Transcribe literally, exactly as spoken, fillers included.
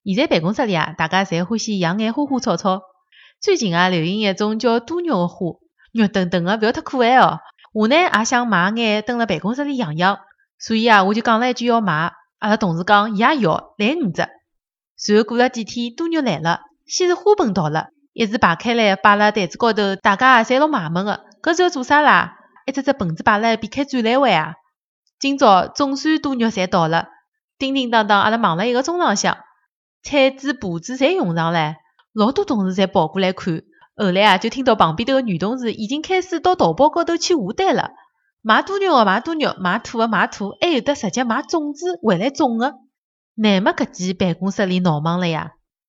现在办公室里啊，大家侪欢喜养眼花花草草。最近啊，流行一种叫多肉的花，肉墩墩的，勿要太可爱哦。我呢也想买眼蹲辣办公室里养养，所以啊，我就讲了一句要买。阿拉同事讲伊也要，来五只。随后过了几天，多肉来了，先是花盆到了，一字排开来摆辣台子高头，大家也侪老卖萌的。搿是要做啥啦？一只只盆子摆辣避开展览会啊！今朝总算多肉侪到了，叮叮当当，阿拉忙了一个钟浪向，铲子、耙子侪用上唻，老多同事侪跑过来看。后来啊，就听到旁边头个女同事已经开始到淘宝高头去下单了，买多肉的买多肉，买土的买土，还有的直接买种子回来种的。乃末搿记办公室里闹忙了呀！